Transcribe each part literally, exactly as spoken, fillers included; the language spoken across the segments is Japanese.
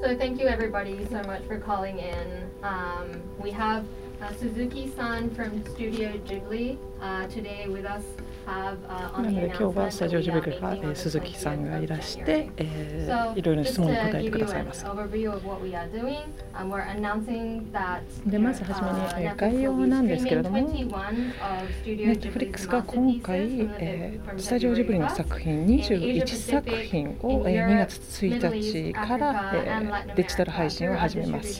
So thank you everybody so much for calling in. Um, we have uh, Suzuki-san from Studio Ghibli uh, today with us. なので今日はスタジオジブリから鈴木さんがいらして、えー、いろいろな質問に答えてくださいます。でまずはじめに、えー、概要なんですけれども、Netflix が今回、えー、スタジオジブリの作品にじゅういちさくひんを、えー、にがつついたちから、えー、デジタル配信を始めます。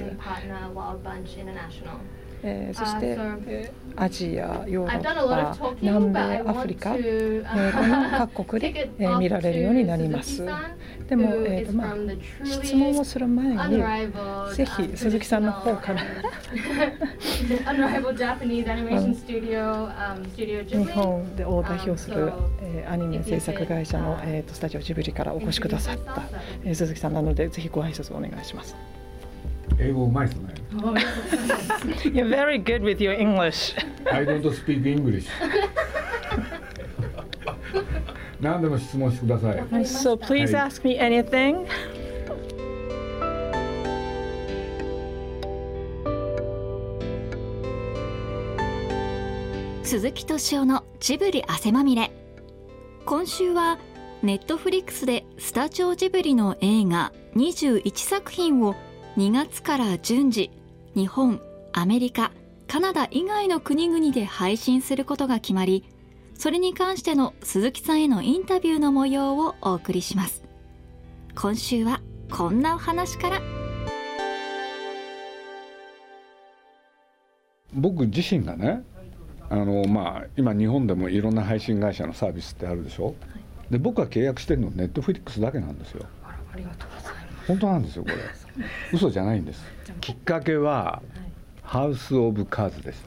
えー、そして、えー、アジア、ヨーロッパ、南米、アフリカ、えー、各国で、えー、見られるようになります。でも、えーとまあ、質問をする前にぜひ鈴木さんの方から日本でを代表する、えー、アニメ制作会社の、えー、とスタジオジブリからお越しくださった、えー、鈴木さんなのでぜひご挨拶をお願いします。 英語うまいですね。 You're very good with your English. I don't speak English. 何でも質問してください。 So please ask me anything. 鈴木敏夫のジブリ汗まみれ。今週はネットフリックスでスタジオジブリの映画にじゅういちさくひんをにがつから順次日本、アメリカ、カナダ以外の国々で配信することが決まり、それに関しての鈴木さんへのインタビューの模様をお送りします。今週はこんなお話から。 僕自身がね、あの、まあ、今日本でもいろんな配信会社のサービスってあるでしょ、はい、で僕が契約してるのネットフリックスだけなんですよ。 あら、ありがとうございます。 本当なんですよこれ。嘘じゃないんです。きっかけはハウス・オブ・カーズでした。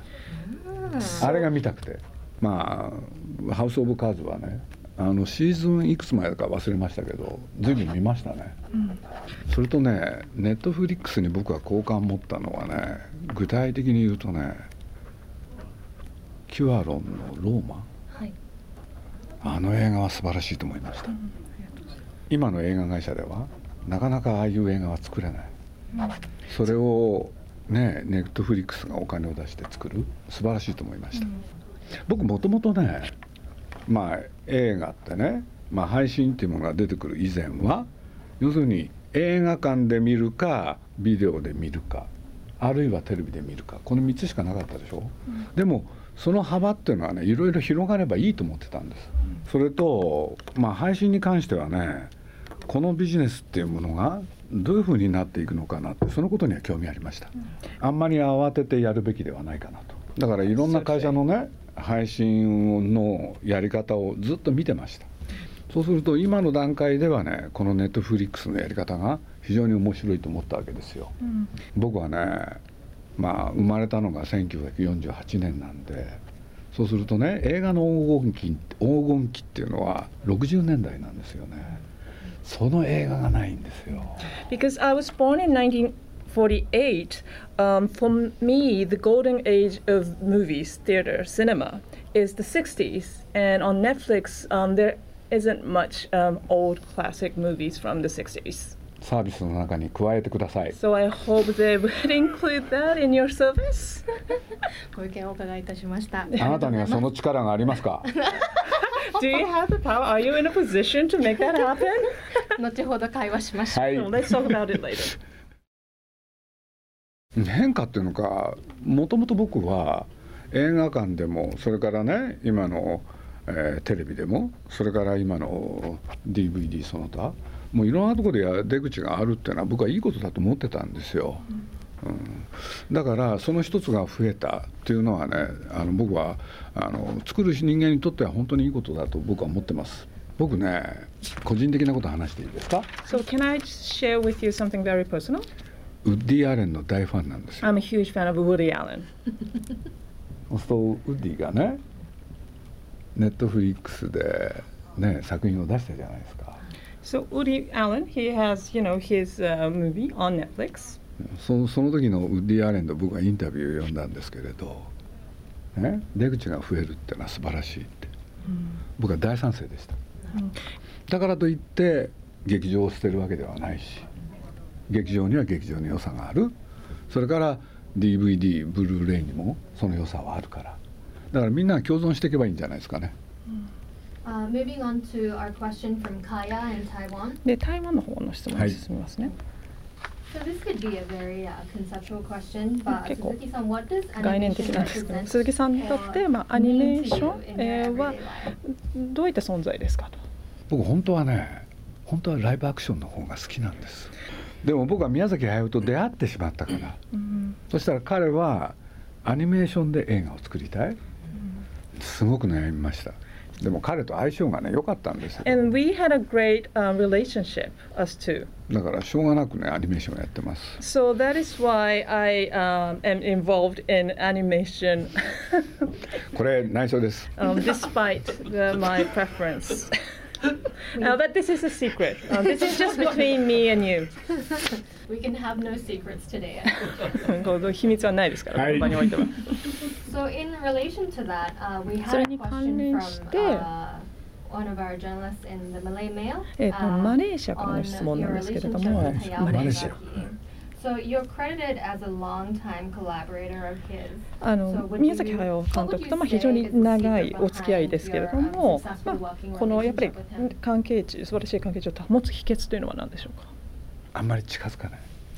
あれが見たくて、まあハウス・オブ・カーズはね、あのシーズンいくつ前だか忘れましたけど随分見ましたね、うん、それとねネットフリックスに僕は好感を持ったのはね、具体的に言うとねキュアロンのローマ、はい、あの映画は素晴らしいと思いました、うん、今の映画会社ではなかなかああいう映画は作れない、うん、それをねネットフリックスがお金を出して作る、素晴らしいと思いました、うん、僕もともとね、まあ映画ってね、まあ、配信っていうものが出てくる以前は要するに映画館で見るかビデオで見るかあるいはテレビで見るか、このみっつしかなかったでしょ、うん、でもその幅っていうのはねいろいろ広がればいいと思ってたんです、うん、それとまあ配信に関してはね、このビジネスっていうものがどういうふうになっていくのかなって、そのことには興味ありました、うん、あんまり慌ててやるべきではないかなと。だからいろんな会社のね配信のやり方をずっと見てました。そうすると今の段階ではね、このネットフリックスのやり方が非常に面白いと思ったわけですよ、うん、僕はね、まあ生まれたのがせんきゅうひゃくよんじゅうはちねんなんで、そうするとね映画の黄金期、黄金期っていうのはろくじゅうねんだいなんですよね。その映画がないんですよ。 Because I was born in nineteen forty-eight, um, for me the golden age of movies, theater, cinema is the sixties, and on Netflix um, there isn't much um, old classic movies from the sixties. サービスの中に加えてください。 So I hope they would include that in your service. ご意見をお伺いいたしました。 あなたにはその力がありますか？ Do you have the power? Are you in a position to make that happen? 後ほど会話しましょう。 はい、 Let's talk about it later. 変化っていうのか、もともと僕は映画館でもそれからね今の、えー、テレビでもそれから今の ディーブイディー その他もういろんなところでや出口があるっていうのは僕はいいことだと思ってたんですよ、うんうん、だからその一つが増えたっていうのはね、あの僕はあの作る人間にとっては本当にいいことだと僕は思ってます。僕ね個人的なこと話していいですか？ So can I share with you something very personal? ウッディ・アレンの大ファンなんですよ。 I'm a huge fan of Woody Allen. そうするとウッディがねネットフリックスで、ね、作品を出したじゃないですか。 So Woody Allen, he has, you know, his、uh, movie on Netflix. そ, その時のウッディ・アレンと僕はインタビューを読んだんですけれど、ね、出口が増えるってのは素晴らしいって、うん、僕は大賛成でした、うん、だからといって劇場を捨てるわけではないし、 劇場には劇場の良さがある。それから ディーブイディー ブルーレイにもその良さはあるから、だからみんなが共存していけばいいんじゃないですかね。 Uh, moving on to our question from Kaya in Taiwan. で、台湾の方の質問に進みますね。 So this could be a very uh, conceptual question, but Suzuki-san, what does 概念的なんですけど、鈴木さんにとって、まあ、アニメーション、えー、はどういった存在ですかと。 僕本当はね、本当はライブアクションの方が好きなんです。でも僕は宮崎駿と出会ってしまったから、うん、そしたら彼はアニメーションで映画を作りたい、うん、すごく悩みました。でも彼と相性がね良かったんですよ。 And we had a great、uh, relationship, us two. だからしょうがなくねアニメーションをやってます。 So that is why I、um, am involved in animation. これ内緒です。 um, despite the, my preference. uh, but this is a secret. Uh, this is just between me and you. We can have no secrets today. 秘密はないですから、この場においては。 So in relation to that, uh, we had a question from uh, one of our journalists in the Malay Mail. えっとマレーシアからの質問なんですけれども、 マレーシア。 So you're credited as a long-time collaborator of his. あの宮崎駿監督とまあ非常に長いお付き合いですけれども、まあ、このやっぱり関係値、素晴らしい関係値を保つ秘訣というのは何でしょうか。 あんまり近づかない。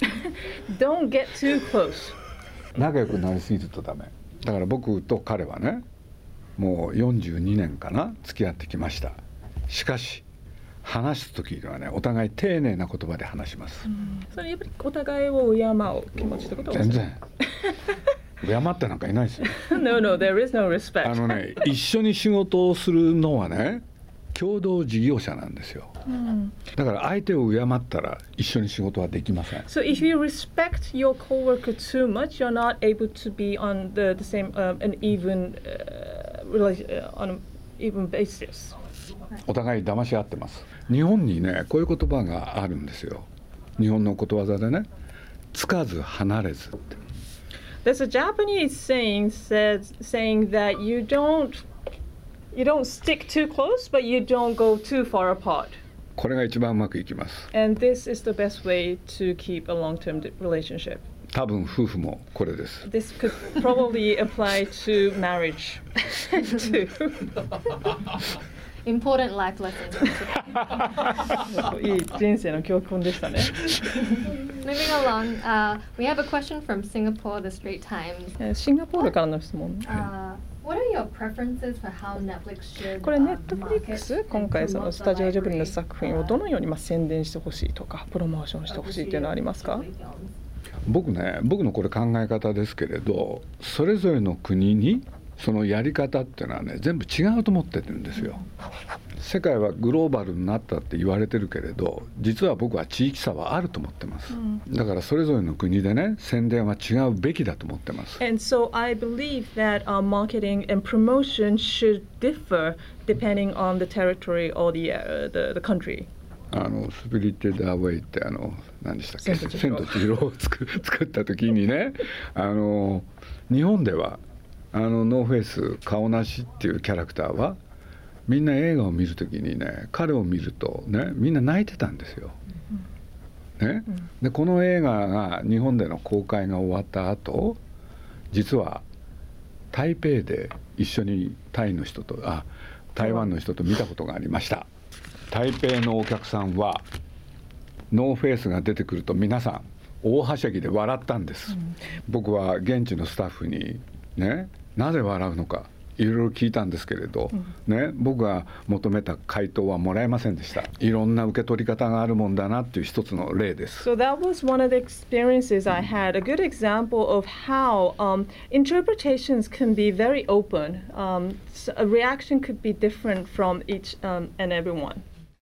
Don't get too close. 仲良くなりすぎるとダメ。だから僕と彼はね、もうよんじゅうにねんかな付き合ってきました。しかし話す時にはね、お互い丁寧な言葉で話します。うん、 それやっぱりお互いを敬う気持ちってことは全然敬ってなんかいないですよ。 No, no, there is no respect. あのね、一緒に仕事をするのはね、共同事業者なんですよ。うん、だから相手を敬ったら一緒に仕事はできません。 So if you respect your coworker too much, you're not able to be on the, the same、um, an even、uh, on an even basis. お互い騙し合ってます。日本にね、こういう言葉があるんですよ。日本のことわざでね、つかず離れずって。 There's a Japanese saying says saying that you don't you don't stick too close, but you don't go too far apart. これが一番うまくいきます。 And this is the best way to keep a long-term relationship. 多分夫婦もこれです。 This could probably apply to marriage too. Important life lesson. いい人生の教訓でしたね。 Moving along, uh, we have a question from Singapore, The Straits Times. シンガポールからの質問。 Uh, What are your preferences for how Netflix should? これネットフリックス今回そのスタジオジブリの作品をどのようにまあ宣伝してほしいとかプロモーションしてほしいというのはありますか？ 僕ね、僕のこれ考え方ですけれど、それぞれの国にそのやり方っていうのはね全部違うと思ってるんですよ。世界はグローバルになったって言われてるけれど、実は僕は地域差はあると思ってます。だからそれぞれの国でね宣伝は違うべきだと思ってます。 And so I believe that、uh, marketing and promotion should differ depending on the territory or the、uh, the the country. あのスピリテッドアウェイってあの何でしたっけ、千と千尋を作作った時にね、あの日本ではあのノーフェイス顔なしっていうキャラクターはみんな映画を見るときにね、彼を見るとねみんな泣いてたんですよ。ね、でこの映画が日本での公開が終わった後、実は台北で一緒にタイの人とあ台湾の人と見たことがありました。台北のお客さんはノーフェイスが出てくると皆さん大はしゃぎで笑ったんです。うん、僕は現地のスタッフにね、なぜ笑うのかいろいろ聞いたんですけれど、うん、ね、僕が求めた回答はもらえませんでした。いろんな受け取り方があるもんだなっていう一つの例です。 So that was one of the experiences I had. A good example of how、um, interpretations can be very open. Um, so a reaction could be different from each、um, and everyone.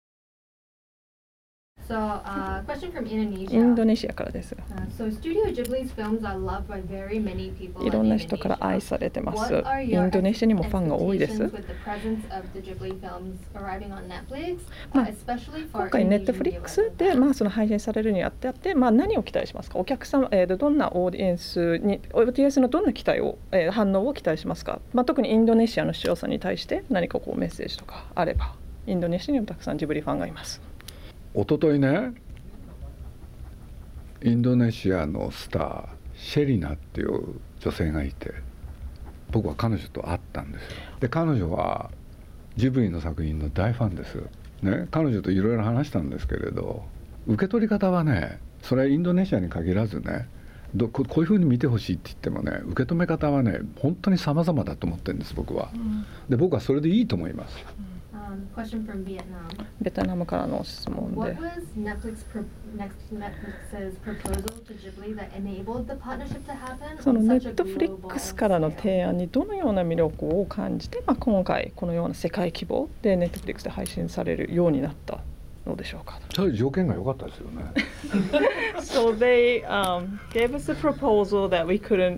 So, uh, question from Indonesia. インドネシアからです。 Uh, so, Studio Ghibli's films are loved by very many people. いろんな人から愛されてます。インドネシアにもファンが多いです。まあ、今回ネットフリックスでまあその配信されるにあってあって、まあ何を期待しますか？お客様、えー、どんなオーディエンスに、オーディエンスのどんな期待を、えー、反応を期待しますか？まあ特にインドネシアの視聴者に対して何かこうメッセージとかあれば、インドネシアにもたくさんジブリファンがいます。 おとといね、 インドネシアのスターシェリナっていう女性がいて、僕は彼女と会ったんですよ。で彼女はジブリの作品の大ファンです、ね、彼女といろいろ話したんですけれど、受け取り方はね、それはインドネシアに限らずね、ど こ, こういうふうに見てほしいって言ってもね、受け止め方はね本当に様々だと思ってるんです僕は、うん、で僕はそれでいいと思います。 ベトナムからの質問で、そのネットフリックスからの提案にどのような魅力を感じて、まあ、今回このような世界規模でネットフリックスで配信されるようになったのでしょうか。 そういう条件が良かったですよね。 So they、um, gave us a proposal that we couldn't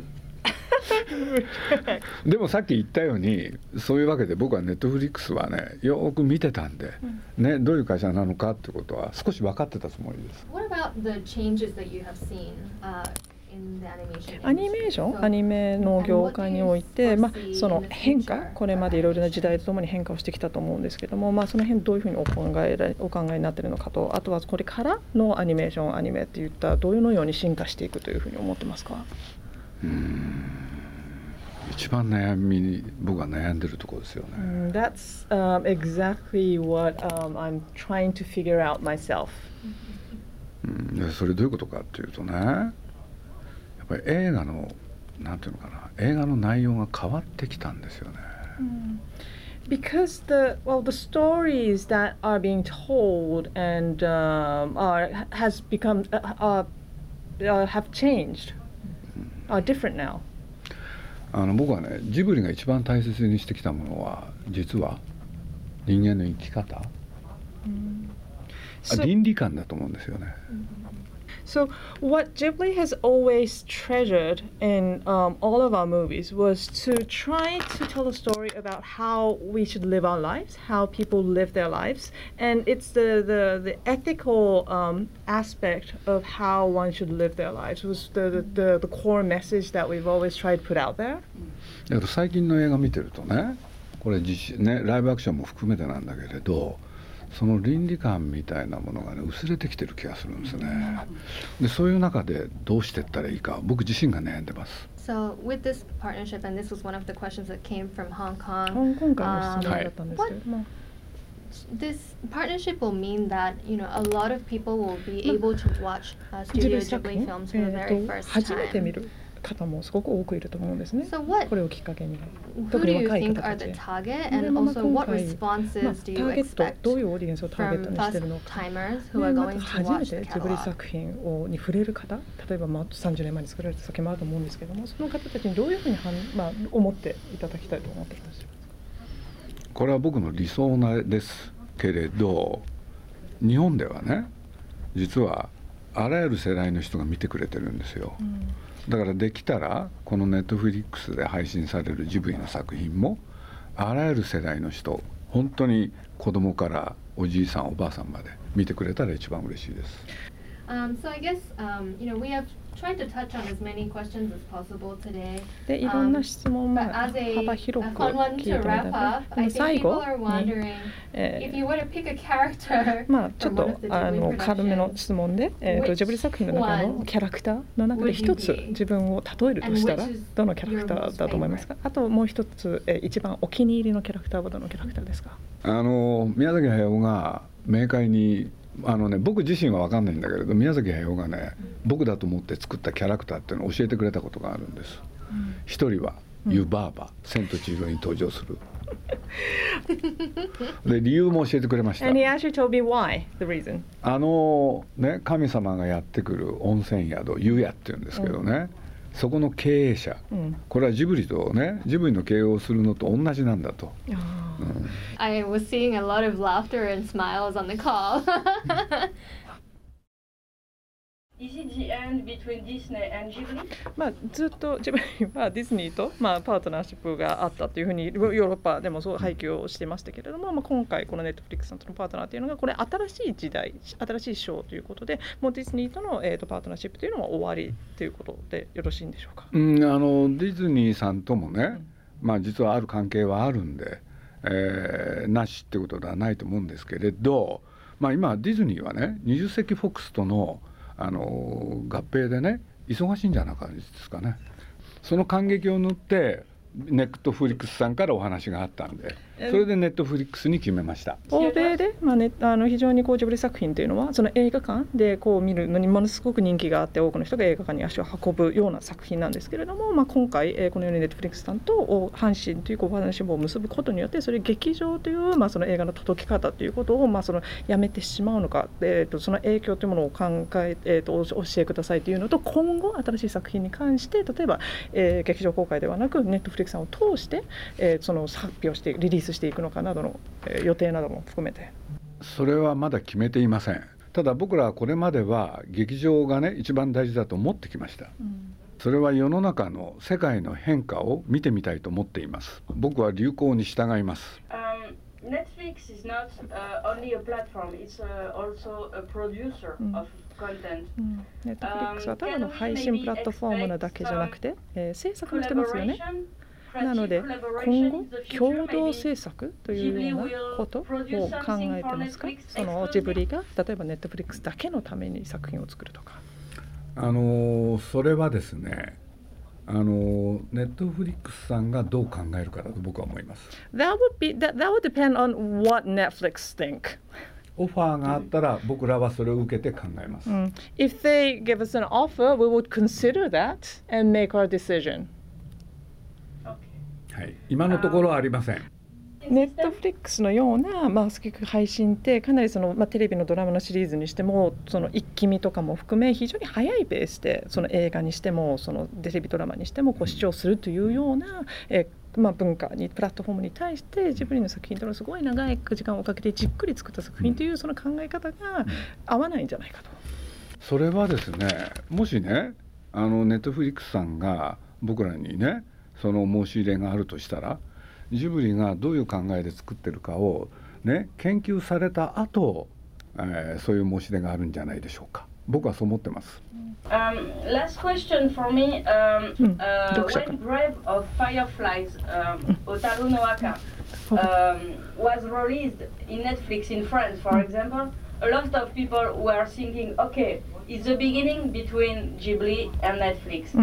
でもさっき言ったように、そういうわけで僕はネットフリックスはねよく見てたんで、うん、ね、どういう会社なのかってことは少し分かってたつもりです。 What about the changes that you have seen, uh, in the animation? アニメーション、アニメの業界において、まあ、その変化、これまでいろいろな時代とともに変化をしてきたと思うんですけども、まあ、その辺どういうふうにお考え、お考えになっているのかと、あとはこれからのアニメーション、アニメっていったどういうのように進化していくというふうに思ってますか？ うーん、一番悩みに僕は悩んでるところですよね。 Mm, that's um, exactly what um, I'm trying to figure out myself. うん、でそれどういうことかっていうとね、やっぱり映画のなんていうのかな、映画の内容が変わってきたんですよね。 Mm. Because the well, the stories that are being told and um, are has become uh, uh, uh, have changed, are different now. あの僕はね、ジブリが一番大切にしてきたものは実は人間の生き方、mm. so, 倫理観だと思うんですよね。 So what Ghibli has always treasured in um, all of our movies was to try to tell a story about how we should live our lives, how people live their lives, and it's the the, the ethical um, aspect of how one should live their lives was the, the, the core message that we've always tried to put out there. だから最近の映画見てるとね、これ実ね、ライブアクションも含めてなんだけれど、その倫理観みたいなものがね薄れてきてる気がするんですね。でそういう中でどうしていったらいいか僕自身が悩んでます。 So with this partnership, and this was one of the questions that came from Hong Kong. 香港からの質問だったんですけども、 this partnership will mean that you know a lot of people will be able to watch uh, Studio Ghibli films for the very first time. 初めて見る方もすごく多くいると思うんですね。 So what, これをきっかけに。 Who do you think are the target, and also what responses do you expect from first-timers who are going to watch the catalog? ジブリ作品をに触れる方、例えばまあさんじゅうねんまえに作られた作品もあると思うんですけども、その方たちにどういうふうにはん、まあ、思っていただきたいと思っています。 これは僕の理想なですけれど、日本ではね、実はあらゆる世代の人が見てくれてるんですよ。うん、だからできたらこのネットフリックスで配信されるジブリの作品もあらゆる世代の人、本当に子供からおじいさんおばあさんまで見てくれたら一番嬉しいです。 Um, so I guess um, you know we have tried to touch on as many questions as possible today. でいろんな質問も幅広く聞いてみたいな。でも最後に、えー、まあちょっとあの軽めの質問で、えー、とジブリ作品の中のキャラクターの中で一つ自分を例えるとしたらどのキャラクターだと思いますか？あともう一つ、えー、一番お気に入りのキャラクターはどのキャラクターですか？ あの宮崎駿が明快にあのね、僕自身は分かんないんだけれど、宮崎駿がね、僕だと思って作ったキャラクターっていうのを教えてくれたことがあるんです。一、うん、人は湯婆婆、千と千尋に登場する。で理由も教えてくれました。 And he actually told me why, the reason. あのね、神様がやってくる温泉宿、湯屋っていうんですけどね、うん、そこの経営者、うん、これはジブリとね、ジブリの経営をするのと同じなんだと。うん、 I was seeing a lot of laughter and smiles on the call. Is it the end between Disney and Ghibli? まあずっとジブリはディズニーとまあパートナーシップがあったというふうにヨーロッパでもそう配給をしてましたけれども、まあ、今回このネットフリックスさんとのパートナーというのがこれ新しい時代、新しいショーということで、もうディズニーとの、えー、とパートナーシップというのは終わりということでよろしいんでしょうか？ うん、あのディズニーさんともね、うん、まあ実はある関係はあるんで、えー、なしってことではないと思うんですけれど、まあ、今ディズニーはねにじゅっ世紀フォックスとのあの合併でね忙しいんじゃなかったですかね。その感激を縫ってネットフリックスさんからお話があったんで、それでネットフリックスに決めました。 欧米で、まあね、あの非常にこうジブリ作品というのはその映画館でこう見るのにものすごく人気があって、多くの人が映画館に足を運ぶような作品なんですけれども、まあ、今回、えー、このようにネットフリックスさんと阪神というこうパートナーシップを結ぶことによって、それ劇場という、まあ、その映画の届き方ということを、まあ、そのやめてしまうのか、えー、とその影響というものを考え、えー、とお教えくださいというのと、今後新しい作品に関して例えば、えー、劇場公開ではなくネットフリックスさんを通して、えー、その発表してリリースしていくのかなどの、えー、予定なども含めて。 それはまだ決めていません。ただ僕らはこれまでは劇場がね一番大事だと思ってきました、うん、それは世の中の世界の変化を見てみたいと思っています。僕は流行に従います。 um, Netflix is not、uh, only a platform, it's、uh, also a producer、うん、of content、 うん、ネットフリックスはただの配信プラットフォームなだけじゃなくて、えー、制作もしてますよね。なので今後共同制作というようなことを考えてますか。そのジブリが例えばネットフリックスだけのために作品を作るとか。 あのそれはですね、あのネットフリックスさんがどう考えるかだと僕は思います。 That would be that, that would depend on what Netflix think. オファーがあったら僕らはそれを受けて考えます。 Mm. If they give us an offer, we would consider that and make our decision. はい、今のところはありません。 ネットフリックスのような、まあ、配信ってかなりその、まあ、テレビのドラマのシリーズにしてもその一気見とかも含め非常に速いペースでその映画にしてもそのテレビドラマにしてもこう視聴するというような、えまあ、文化にプラットフォームに対してジブリの作品というのはすごい長い時間をかけてじっくり作った作品というその考え方が合わないんじゃないかと。 それはですね、もしねあのネットフリックスさんが僕らにねその申し入れがあるとしたら、ジブリがどういう考えで作ってるかを、ね、研究された後、えー、そういう申し出があるんじゃないでしょうか。僕はそう思ってます。 Um, last question for me. Um, uh, when Grave of Fireflies, um, Otaru no Aka, um, was released in Netflix in France, for example, a lot of people were thinking, okay, it's the beginning between Ghibli and Netflix.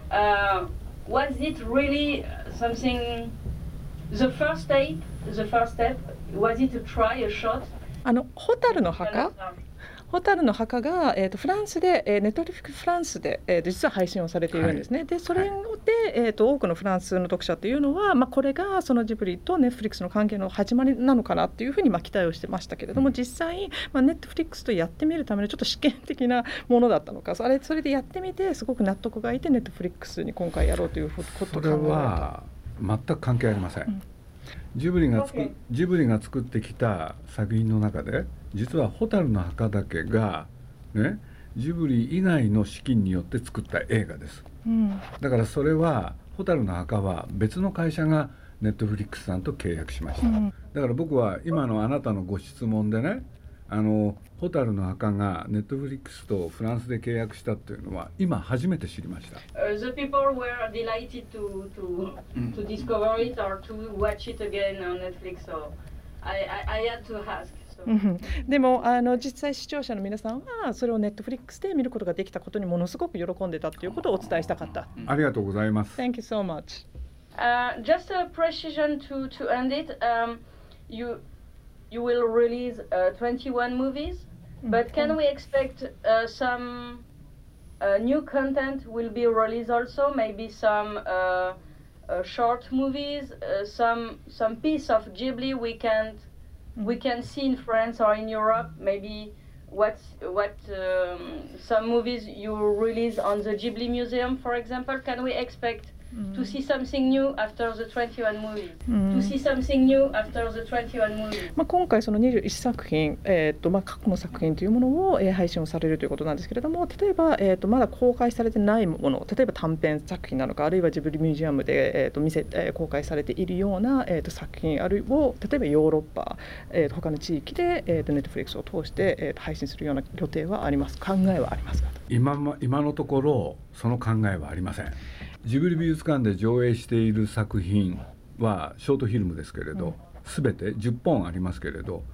Uh, Was it really something? The first step, the first step, was it to try a shot? あのホタルの墓、ホタルの墓が、えー、とフランスで、えー、ネットフリックスフランスで、えー、実は配信をされているんですね。はい、でそれで、えー、と多くのフランスの読者というのは、まあ、これがそのジブリとネットフリックスの関係の始まりなのかなというふうにまあ期待をしてましたけれども、実際、まあ、ネットフリックスとやってみるためのちょっと試験的なものだったのか、それそれでやってみてすごく納得がいてネットフリックスに今回やろうということを考えた。 それは全く関係ありません。うん、ジブリがつくジブリが作ってきた作品の中で実はホタルの墓だけがね、ジブリ以外の資金によって作った映画です、うん、だからそれはホタルの墓は別の会社がネットフリックスさんと契約しました、うん、だから僕は今のあなたのご質問でね、あのホタルの墓がネットフリックスとフランスで契約したっていうのは今初めて知りました。 Uh, the people were delighted to to to discover it or to watch it again on Netflix, so I I, I had to ask. でもあの実際視聴者の皆さんはそれをネットフリックスで見ることができたことにものすごく喜んでたということをお伝えしたかった。 ありがとうございます。 Thank you so much. Uh, just a precision to to end it. Um, you you will release uh, twenty-one movies, but can we expect uh, some uh, new content will be released also? Maybe some uh, uh, short movies, uh, some some piece of Ghibli we can. We can see in France or in Europe, maybe what what um, some movies you release on the Ghibli Museum, for example. Can we expect mm. to see something new after the twenty-one movies? Mm. To see something new after the twenty-one movies? まあ今回そのにじゅういっさく品、えーとまあ、過去の作品というものを、えー、配信をされるということなんですけれども、例えば、えーとまだ公開されてないもの、例えば短編作品なのか、あるいはジブリミュージアムで、えー、と見せ、えー、公開されているような、えー、と作品あるいは例えばヨーロッパ、えー、と他の地域で、えー、とネットフリックスを通して、えー、と配信するような予定はあります、考えはありますか？ 今、今のところその考えはありません。ジブリ美術館で上映している作品はショートフィルムですけれど、すべ、うん、てじゅっぽんありますけれど、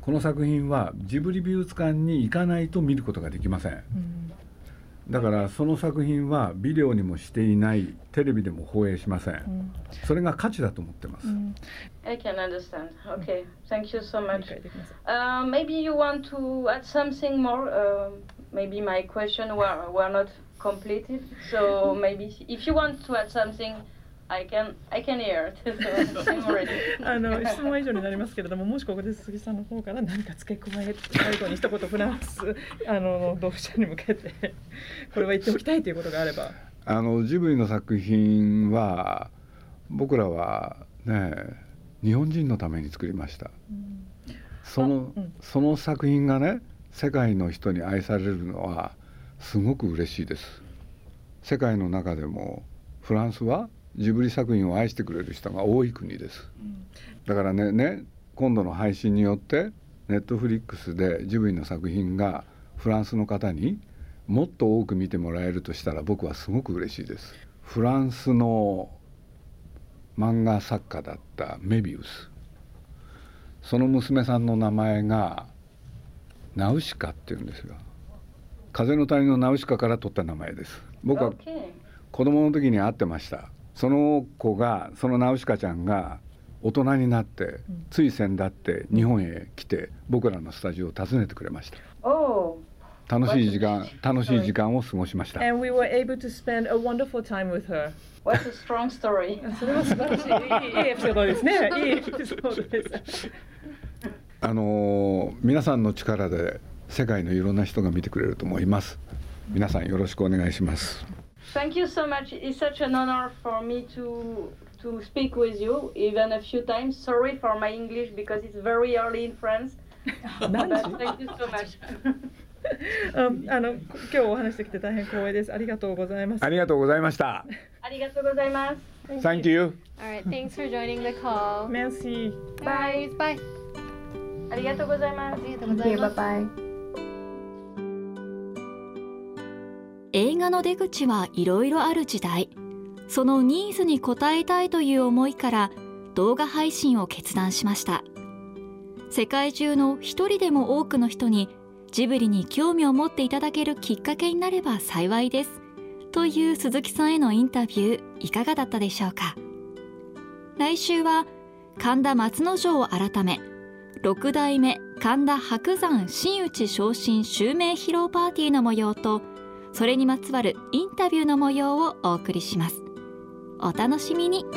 この作品はジブリ美術館に行かないと見ることができません、うん、だからその作品はビデオにもしていない、テレビでも放映しません、うん、それが価値だと思ってます、うん、 I can understand. Okay, thank you so much. Uh, maybe you want to add something more? Uh, maybe my question were, were not completed, so maybe if you want to add something, I can, I can hear it. So I'm ready. あの質問以上になりますけれども、もしここで鈴木さんの方から何か付け加え、最後に一言フランスあの読者に向けてこれは言っておきたいということがあれば。 あのジブリの作品は僕らはね、日本人のために作りました、うん、その、うん、その作品がね、世界の人に愛されるのはすごく嬉しいです。世界の中でもフランスはジブリ作品を愛してくれる人が多い国です、うん、だからね、ね、今度の配信によってネットフリックスでジブリの作品がフランスの方にもっと多く見てもらえるとしたら僕はすごく嬉しいです。フランスの漫画作家だったメビウス、その娘さんの名前がナウシカっていうんですよ。風の谷のナウシカから取った名前です。僕は子供の時に会ってました。その子が、そのナウシカちゃんが大人になってつい先だって日本へ来て僕らのスタジオを訪ねてくれました。楽しい時間、楽しい時間を過ごしました。 And we were able to spend a wonderful time with her. What a strong story. それは素晴らしい、いいエピソードですね。いいエピソードです。 あの皆さんの力で世界のいろんな人が見てくれると思います。皆さんよろしくお願いします。 Thank you so much. It's such an honor for me to to speak with you, even a few times. Sorry for my English because it's very early in France. But thank you so much. あの今日お話してきて大変光栄です。ありがとうございます。 ありがとうございました。 ありがとうございます。 Thank you. All right, thanks for joining the call. Merci. Bye. Bye. ありがとうございます。 ありがとうございます。 Bye bye. 映画の出口はいろいろある時代、そのニーズに応えたいという思いから動画配信を決断しました。世界中の一人でも多くの人にジブリに興味を持っていただけるきっかけになれば幸いですという鈴木さんへのインタビュー、いかがだったでしょうか。来週は神田松之丞を改め六代目神田伯山真打昇進襲名披露パーティーの模様と、それにまつわるインタビューの模様をお送りします。お楽しみに。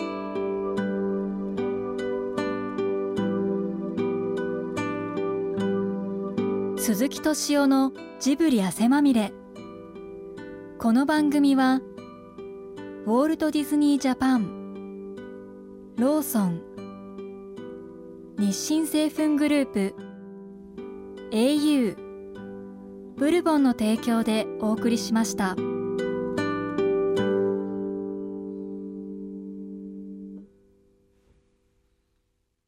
鈴木敏夫のジブリ汗まみれ。この番組はウォルト・ディズニー・ジャパン、ローソン、日清製粉グループ、エーユー、ブルボンの提供でお送りしました。